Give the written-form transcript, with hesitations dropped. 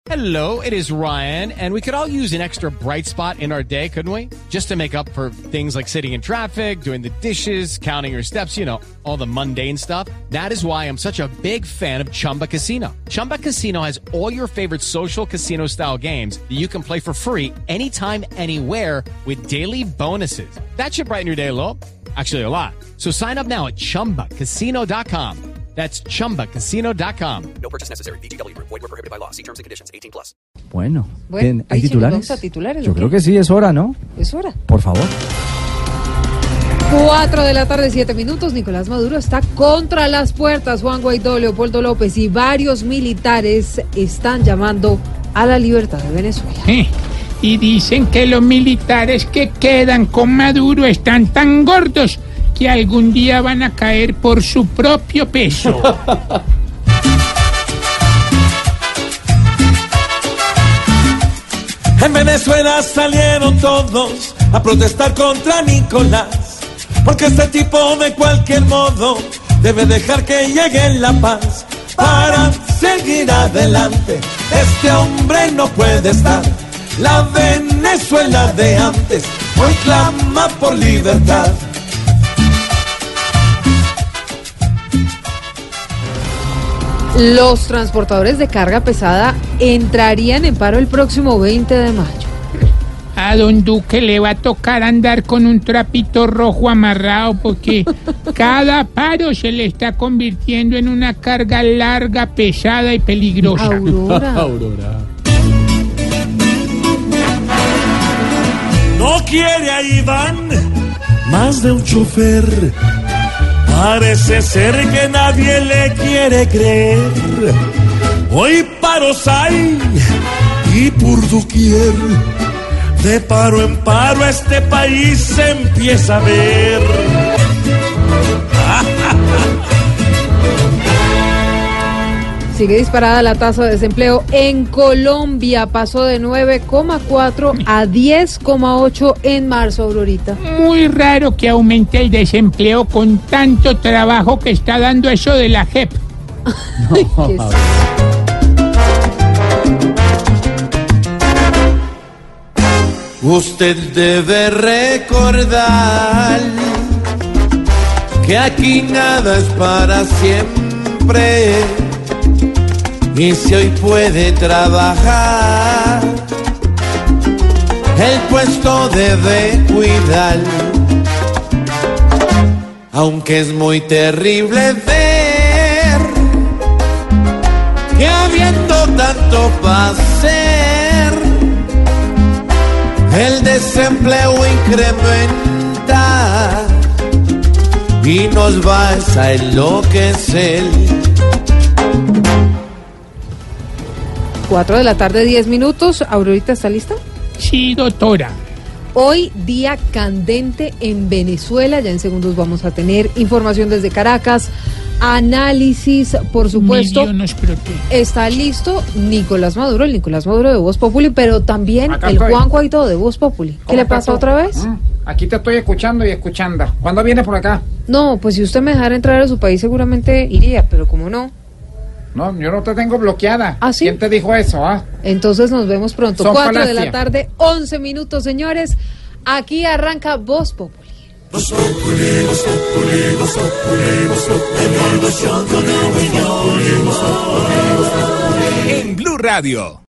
Hello, it is Ryan, and we could all use an extra bright spot in our day, couldn't we? Just to make up for things like sitting in traffic, doing the dishes, counting your steps, you know, all the mundane stuff. That is why I'm such a big fan of Chumba Casino. Chumba Casino has all your favorite social casino-style games that you can play for free anytime, anywhere with daily bonuses. That should brighten your day a little. Actually, a lot. So sign up now at ChumbaCasino.com. That's ChumbaCasino.com. No purchase necessary. VGW Group. Void where prohibited by law. See terms and conditions. 18+. Bueno, ahí ¿hay sí titulares? vamos a titulares. Yo creo que sí, es hora, ¿no? Es hora. Por favor. 4 de la tarde, 7 minutos. Nicolás Maduro está contra las puertas. Juan Guaidó, Leopoldo López y varios militares están llamando a la libertad de Venezuela. Y dicen que los militares que quedan con Maduro están tan gordos que algún día van a caer por su propio peso. En Venezuela salieron todos a protestar contra Nicolás, porque este tipo de cualquier modo debe dejar que llegue la paz para seguir adelante. Este hombre no puede estar. La Venezuela de antes hoy clama por libertad. Los transportadores de carga pesada entrarían en paro el próximo 20 de mayo. A don Duque le va a tocar andar con un trapito rojo amarrado porque cada paro se le está convirtiendo en una carga larga, pesada y peligrosa. Aurora. No quiere a Iván más de un chofer. Parece ser que nadie le quiere creer. Hoy paros hay y por doquier. De paro en paro este país se empieza a ver. Sigue disparada la tasa de desempleo en Colombia. Pasó de 9,4 a 10,8 en marzo, Aurorita. Muy raro que aumente el desempleo con tanto trabajo que está dando eso de la JEP. ¿Qué es eso? Usted debe recordar que aquí nada es para siempre. Y si hoy puede trabajar, el puesto debe cuidar. Aunque es muy terrible ver que habiendo tanto para hacer, el desempleo incrementa y nos va a enloquecer. 4 de la tarde, 10 minutos. Aurorita, ¿está lista? Sí, doctora. Hoy día candente en Venezuela. Ya en segundos vamos a tener información desde Caracas, análisis, por supuesto. Mi Dios nos protege. Está listo Nicolás Maduro, el Nicolás Maduro de Voz Populi, pero también Acá el estoy. Juan Guaidó de Voz Populi. ¿Qué le pasa otra vez? Aquí te estoy escuchando y escuchando. ¿Cuándo vienes por acá? No, pues si usted me dejara entrar a su país seguramente iría, pero como no. No, yo no te tengo bloqueada. ¿Ah, sí? ¿Quién te dijo eso, Entonces nos vemos pronto. Son 4 de la falacia. tarde, 11 minutos, señores. Aquí arranca Voz Populi. En Blue Radio.